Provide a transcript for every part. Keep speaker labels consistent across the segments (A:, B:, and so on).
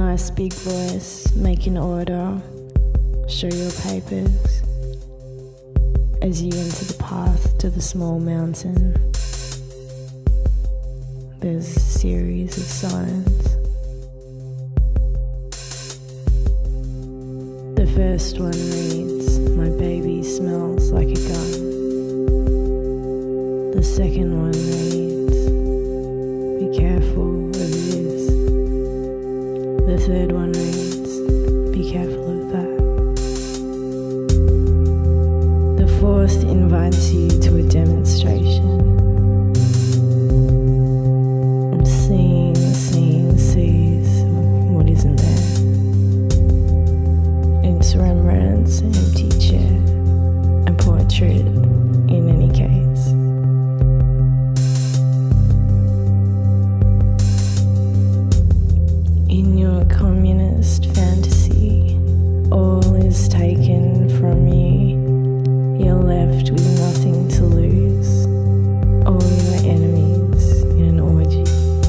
A: nice big voice, make an order, show your papers. As you enter the path to the small mountain, there's a series of signs. The first one reads, "My baby smells like a gun." The second one reads, "Be careful of this." The third one reads, "Be careful of that." The fourth invites you to a demonstration. Sees what isn't there. It's Rembrandt's empty chair, a portrait in any case. In your communist fantasy, all is taken from you. You're left with nothing to lose. All your enemies in an orgy.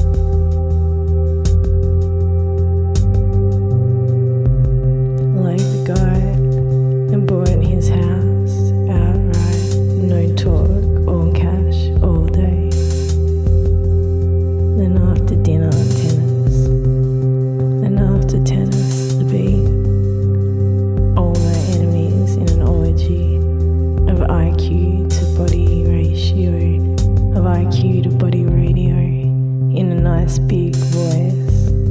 A: Like the guy who bought his house outright, no talk or cash all day. Then after dinner, tennis. Then after tennis, the beat. All my enemies in an orgy of IQ to body ratio, of IQ to body radio, in a nice big voice.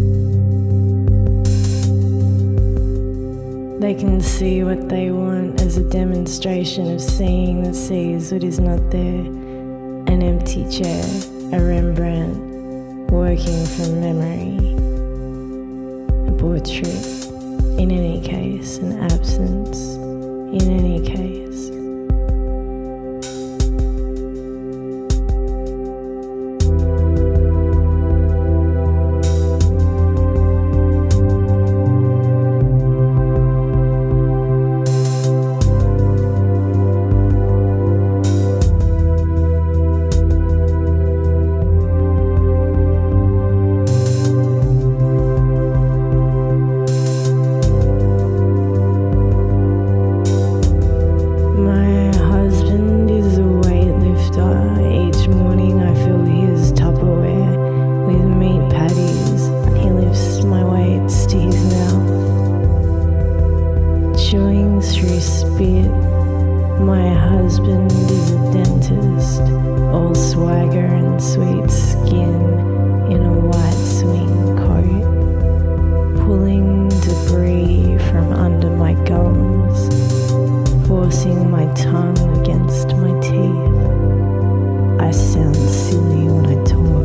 A: They can see what they want as a demonstration of seeing that sees what is not there. An empty chair, a Rembrandt, working from memory. A portrait, in any case, an absence, in any case. Chewing through spit, my husband is a dentist, all swagger and sweet skin in a white swing coat, pulling debris from under my gums, forcing my tongue against my teeth. I sound silly when I talk.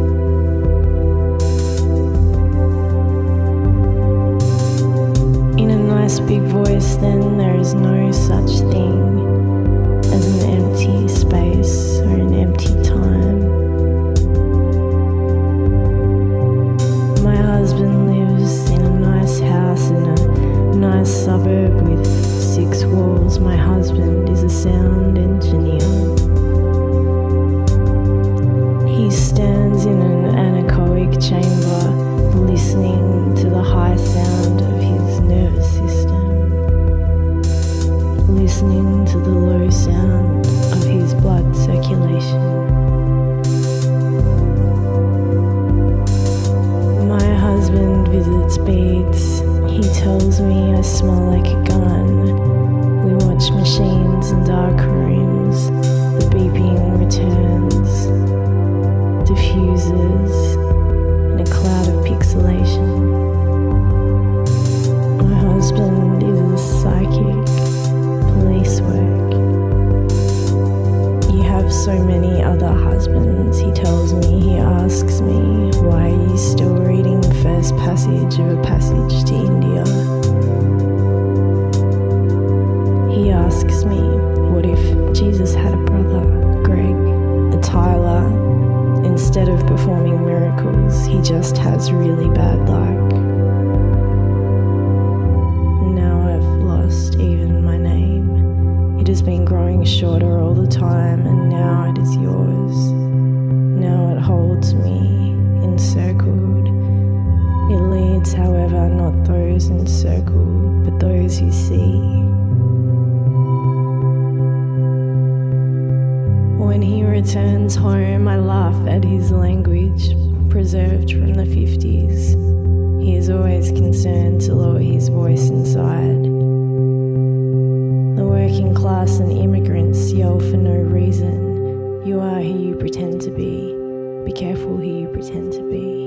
A: Nice big voice, then there is no such thing as an empty space or an empty time. My husband lives in a nice house in a nice suburb with 6 walls. My husband is a sound engineer. He stands in an anechoic chamber, listening to the high sound of his nervous system, listening to the low sound of his blood circulation. My husband visits beats. He tells me I smell like a gun. We watch machines in dark rooms. The beeping returns, diffuses in a cloud of pixelation. My husband is a psychic, police work. You have so many other husbands, he tells me. He asks me, why are you still reading the first passage of A Passage to India? He asks me, what if Jesus had a brother, Greg, a Tyler? Instead of performing miracles, he just has really bad luck. Now I've lost even my name. It has been growing shorter all the time, and now it is yours. Now it holds me encircled It leads, however, not those encircled, but those who see. When he returns home, I laugh at his language, preserved from the 50s. He is always concerned to lower his voice inside. The working class and immigrants yell for no reason. You are who you pretend to be. Be careful who you pretend to be.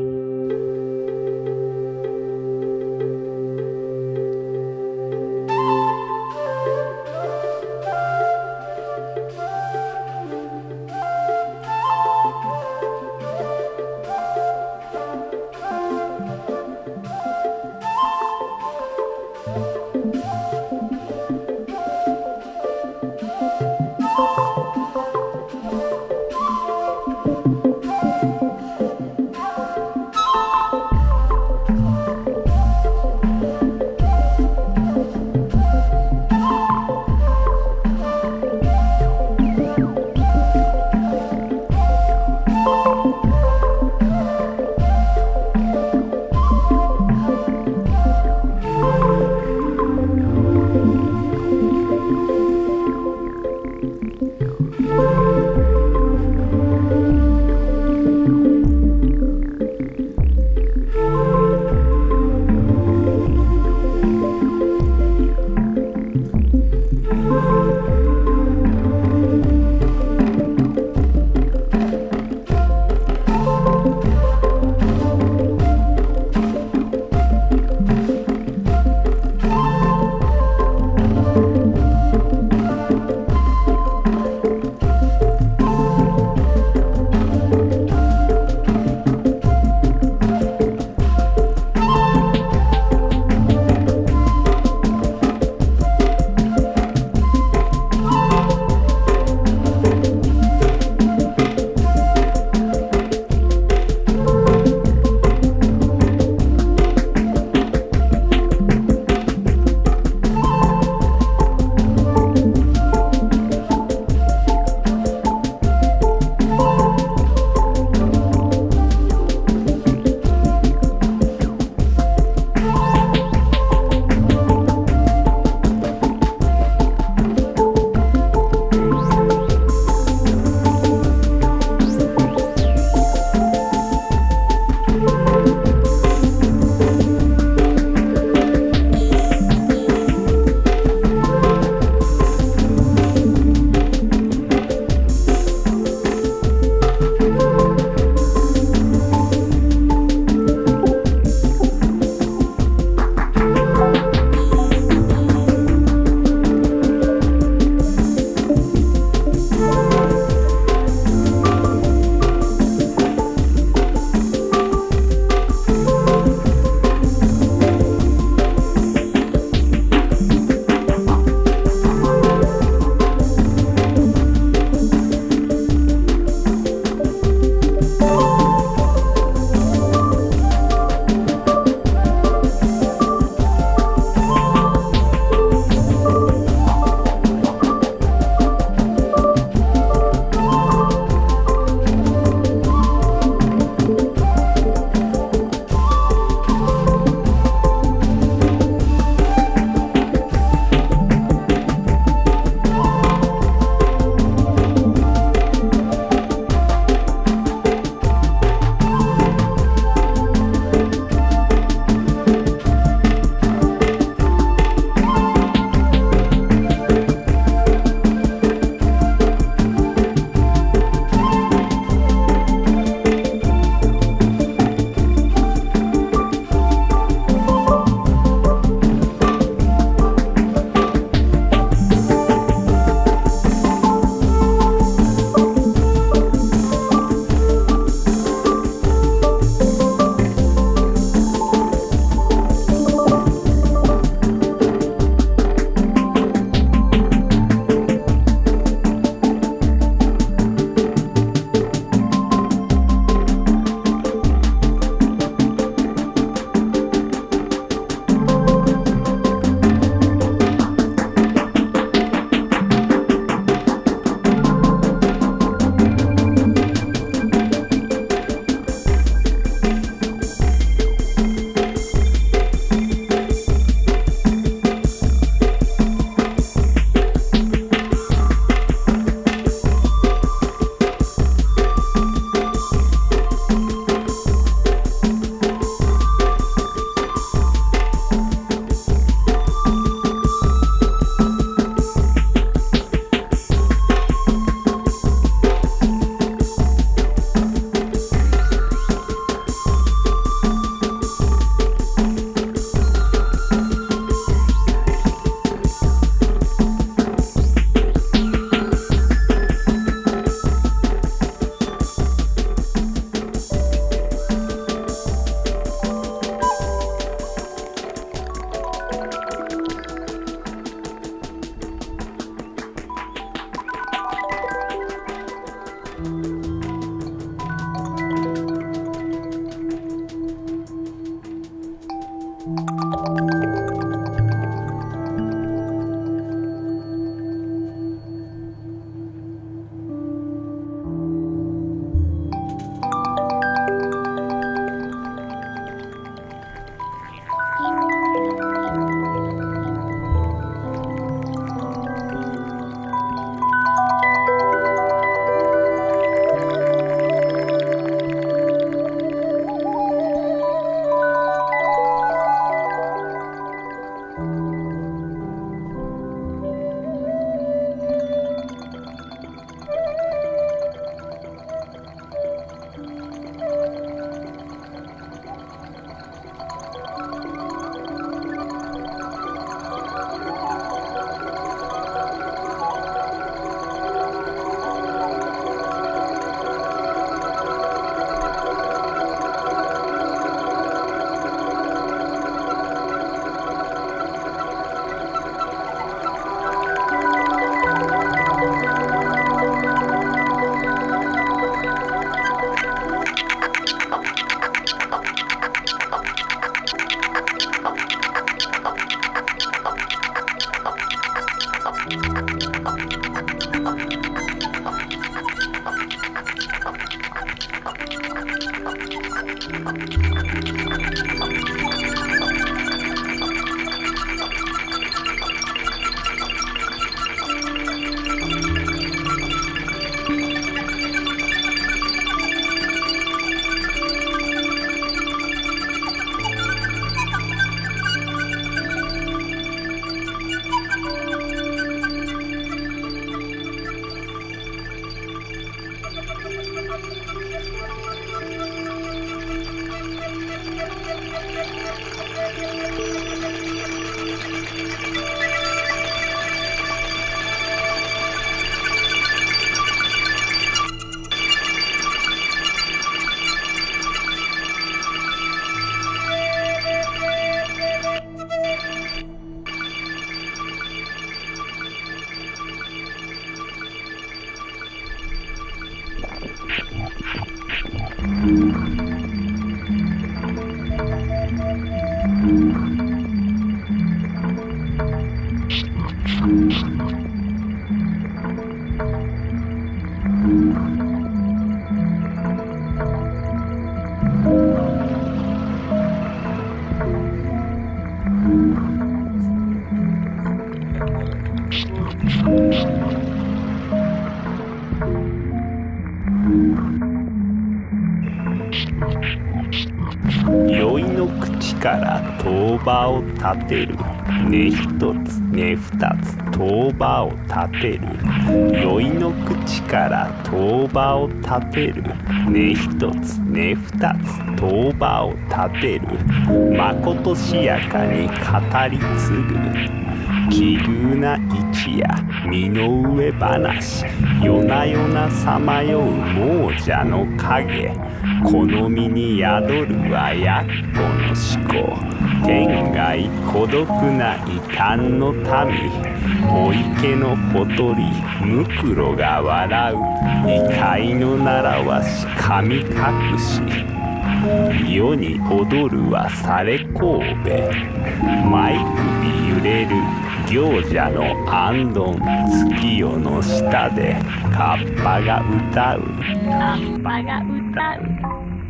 B: 酔いの口から当場を立てる。根一つ根二つ当場を立てる。酔いの口から当場を立てる。根一つ根二つ当場を立てる。まことしやかに語り継ぐ。奇遇な一夜身の上話。夜な夜なさまよう亡者の影。この身に宿るはやっこの思考。天外孤独な異端の民。お池のほとりむくろが笑う。異界の習わし神隠し。世に踊るはされ神戸。舞首揺れる行者の行灯。月夜の下でカッパが歌う。カッパが歌う。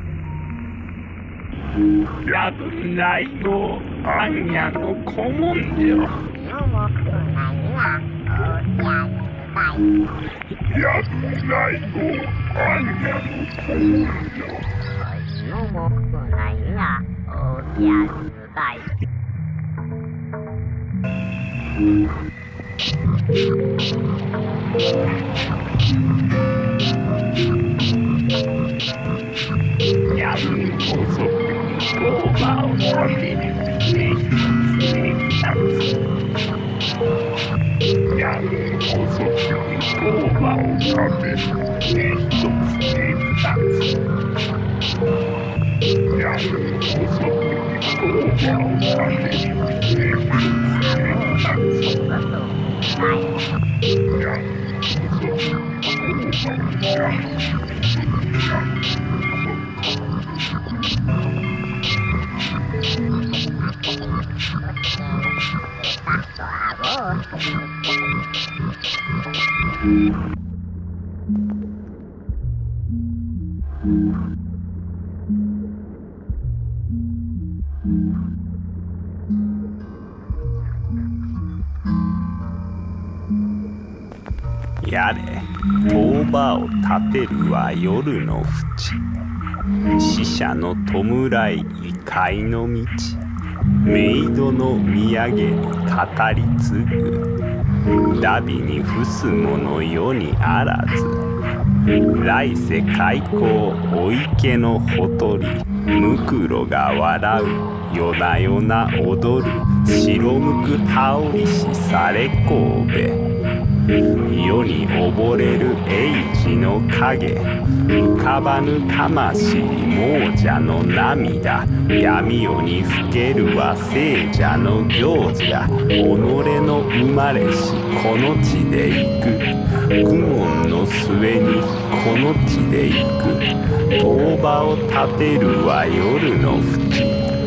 B: やぶないごあんやの古文書。やぶないごあんやの古文書。やぶこそ当場を立てる。やぶこそ当場を立てる。やぶこそ当場を立てやれ当場を立てるは夜の淵。死者の弔い異界の道。メイドの土産に語り継ぐ。荼毘に伏す者世にあらず。来世開口お池のほとり。むくろが笑う夜な夜な踊る。白むく羽織しされ神戸。世に溺れる英治の影。浮かばぬ魂亡者の涙。闇夜にふけるは聖者の行者。己の生まれしこの地で行く。苦悶の末にこの地で行く。当場を立てるは夜の淵。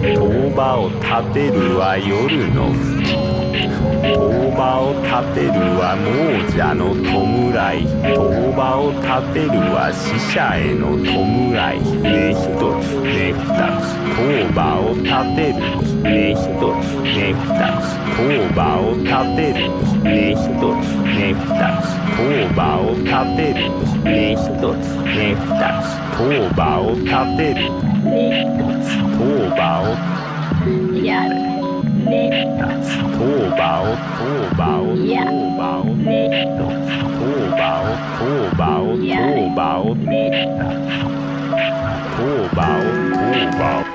B: 塔場を立てるは夜の塔場を立てるは亡者の弔い塔場を立てるは死者への弔いね一つね二つ塔場を立てるね一つね二つ塔場を立てるね一つね二つ塔場を立てるね一つね二つ塔場を立てるね一つ塔場を
C: やるね
B: 二つ塔場を塔場を塔場を
C: ね
B: 塔場を塔場を塔場を
C: ね
B: 塔場を塔場を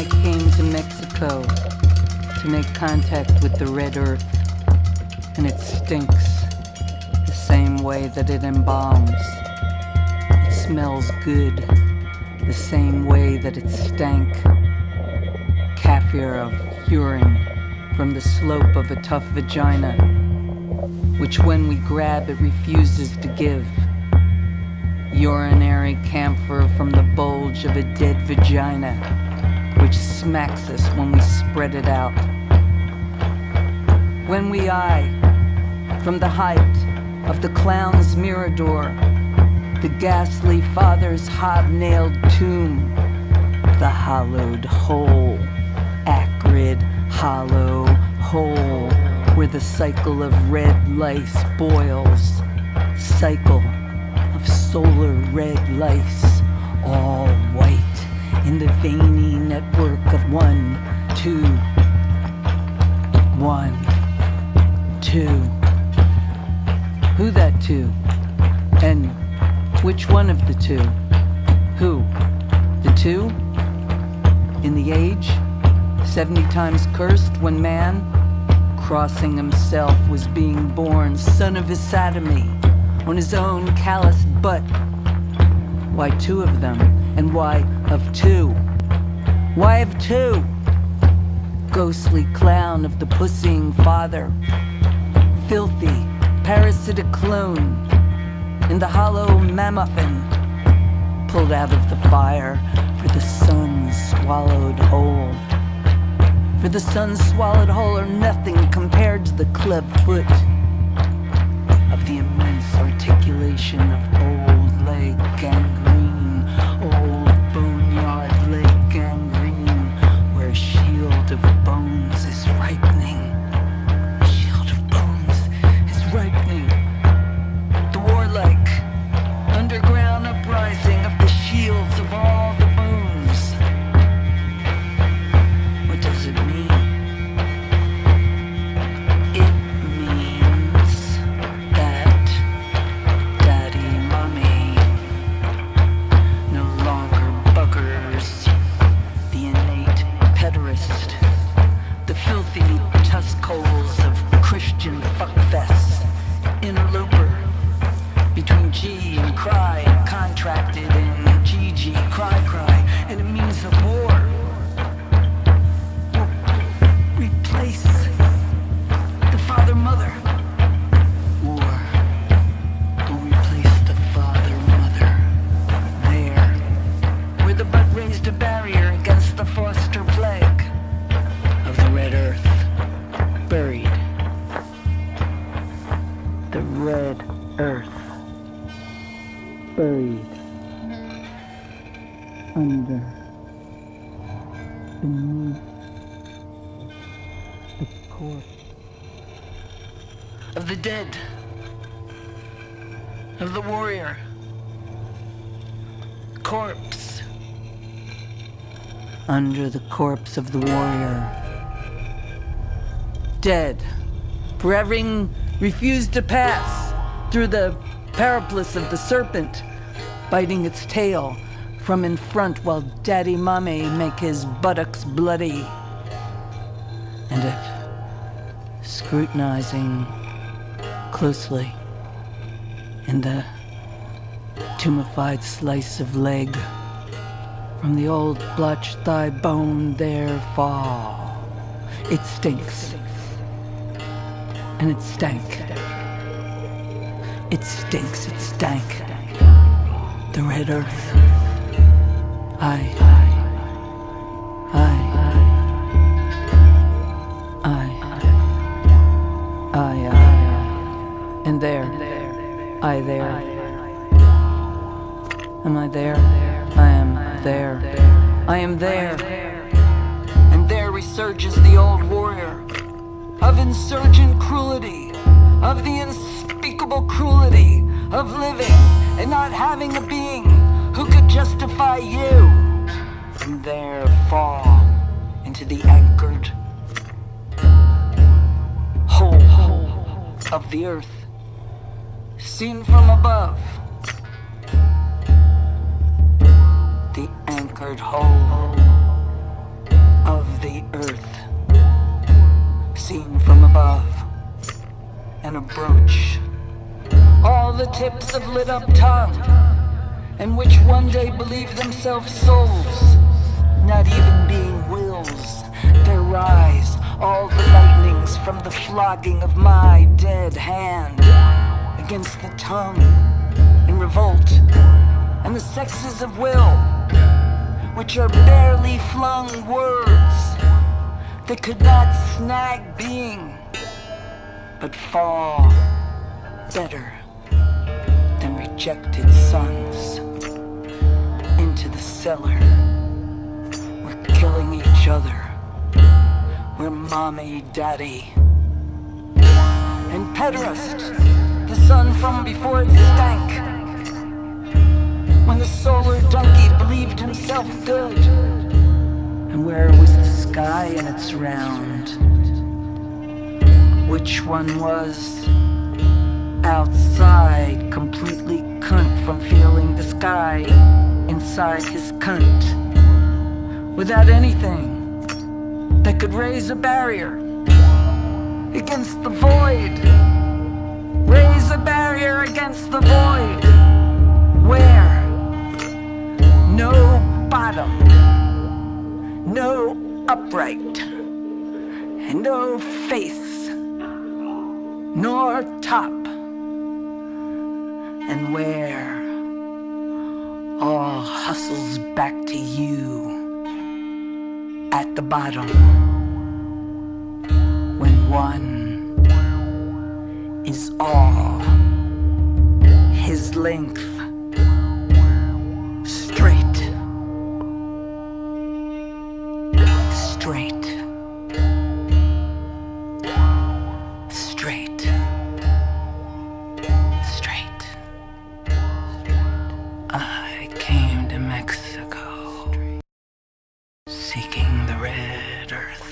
D: came to Mexico to make contact with the red earth, and it stinks the same way that it embalms. It smells good the same way that it stank. Kaffir of urine from the slope of a tough vagina, which when we grab it refuses to give. Urinary camphor from the bulge of a dead vagina, which smacks us when we spread it out. When we eye, from the height of the clown's mirador, the ghastly father's hobnailed tomb, the hollowed hole, acrid, hollow hole, where the cycle of red lice boils, cycle of solar red lice, all white in the veiny network of 1, 2, 1, 2. Who that two? And which one of the two? Who? The two? In the age? 70 times cursed when man, crossing himself, was being born, son of his sodomy, on his own calloused butt. Why two of them? And why of two? Why of two? Ghostly clown of the pussying father, filthy, parasitic clone, in the hollow mammuffin, pulled out of the fire for the sun swallowed whole. For the sun swallowed whole are nothing compared to the club foot of the immense articulation of old leg gangrene, old boneyard leg gangrene, where a shield of bones is ripening. A shield of bones is ripening. The warlike underground uprising of the shields of all the bones. What does it mean? It means that Daddy Mummy no longer buggers the innate pederast, the filthy tusk holes of Christian fuckfests, interloper between G and cry, contracted in GG, cry, and it means the war will replace the father-mother. War will replace the father-mother. There, where the butt raised a barrier against the foster plague of the red earth, buried. The red earth. Buried under, beneath the corpse of the dead, of the warrior. Corpse. Under the corpse of the warrior. Dead, for having refused to pass through the paraplus of the serpent, biting its tail from in front while Daddy Mummy make his buttocks bloody. And if scrutinizing closely in the tumefied slice of leg from the old blotched thigh bone there fall, it stinks. And it stank. It stinks, it stank. The red earth. I. And there. I there. Am I there? I am there. I am there. And there resurges the old warrior of insurgent cruelty, of the unspeakable cruelty of living and not having a being who could justify you. And there fall into the anchored hole of the earth, seen from above. The anchored hole the earth, seen from above, and a brooch, all the tips of lit-up tongue, and which one day believe themselves souls, not even being wills. There rise all the lightnings from the flogging of my dead hand against the tongue in revolt, and the sexes of will, which are barely flung words that could not snag being, but fall better than rejected sons into the cellar. We're killing each other. We're mommy, daddy, and pederast, the son from before it stank, when the solar donkey believed himself good. And where was the sky in its round? Which one was outside, completely cunt from feeling the sky inside his cunt, without anything that could raise a barrier against the void? Raise a barrier against the void, where no bottom, no upright, and no face, nor top, and where all hustles back to you at the bottom, when one is all his length, straight, straight, straight, straight. I came to Mexico seeking the red earth.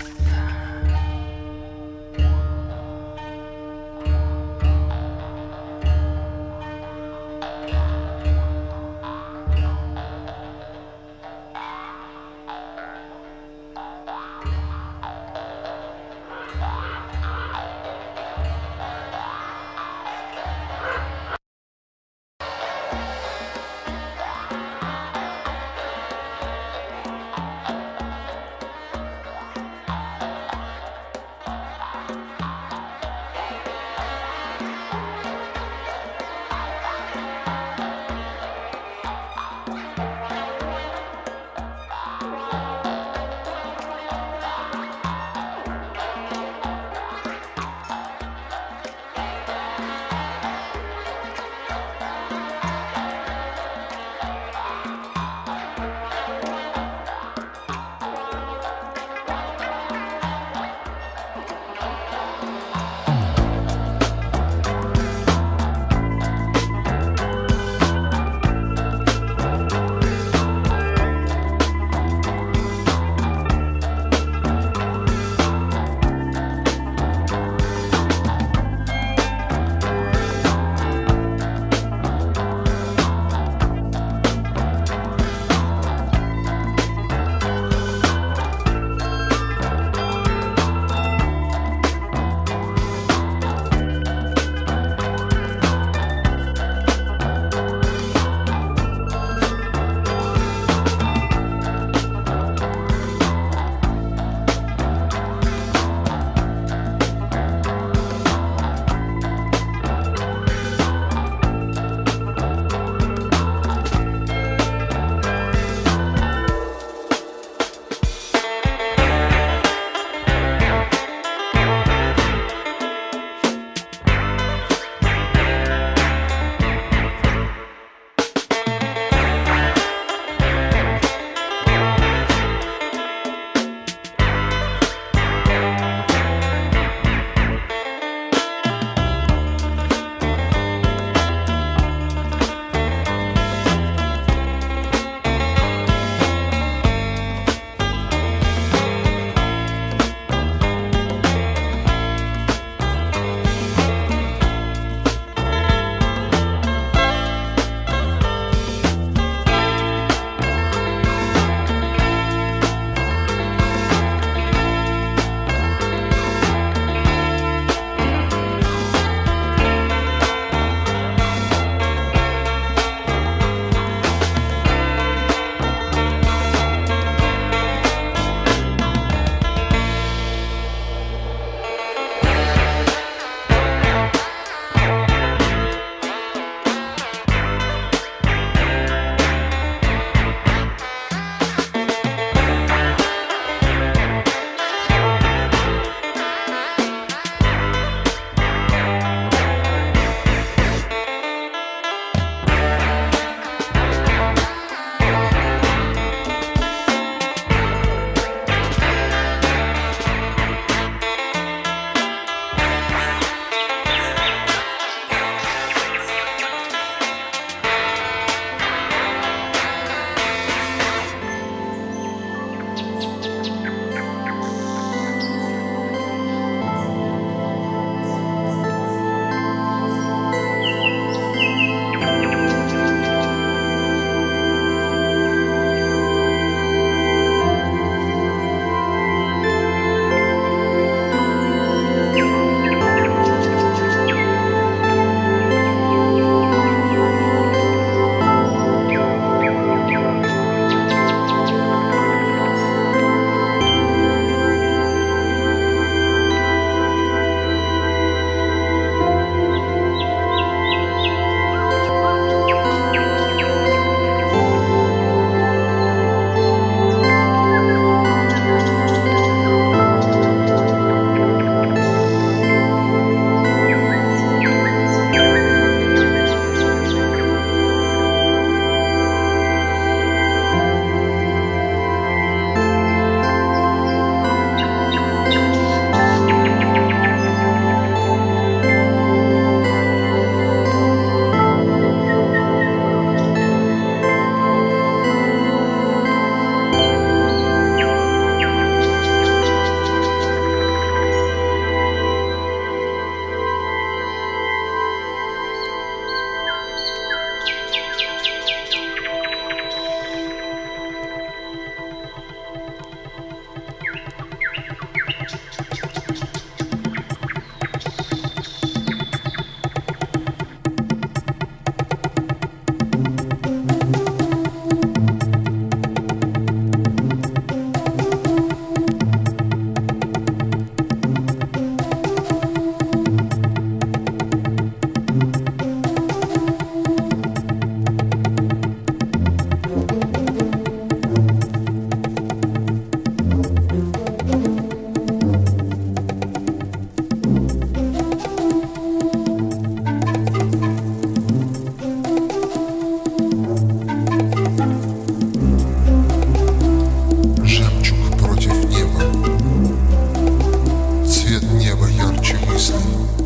E: мыслей.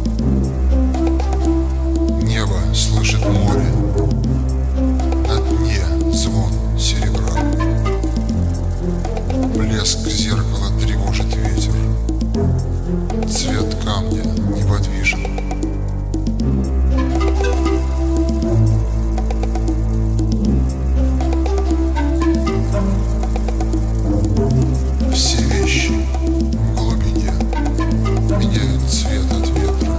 E: Небо слышит море, на дне звон серебра. Блеск зеркала тревожит ветер, цвет камня неподвижен. Все вещи в глубине меняют цвет от ветра.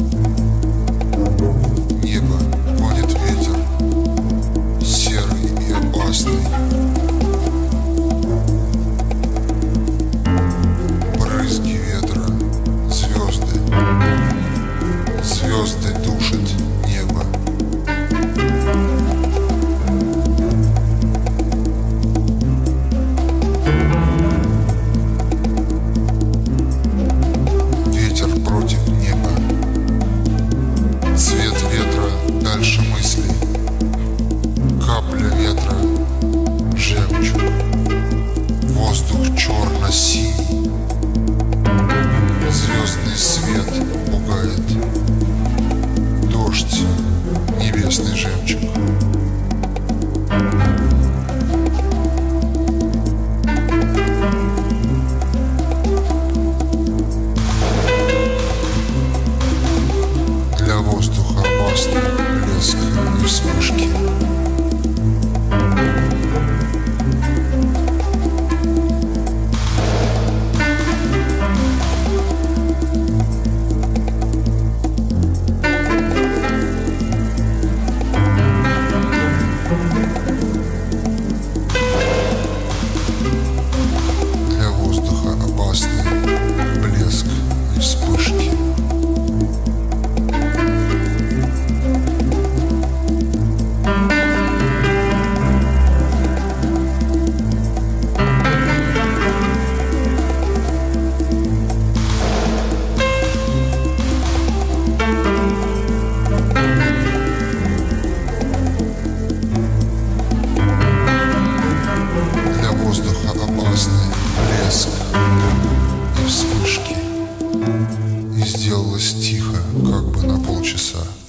E: Небо гонит ветер, серый и опасный. Брызги ветра, звезды, звезды душат небо. Ветер против неба. Цвет ветра дальше мыслей. Капля ветра — жемчуг. Воздух черно-синий. Звездный свет пугает. Дождь — небесный жемчуг. Для воздуха опасный блеск и вспышки. Для воздуха опасный блеск и вспышки. Для воздуха опасный блеск и вспышки. И сделалось тихо, как бы на полчаса.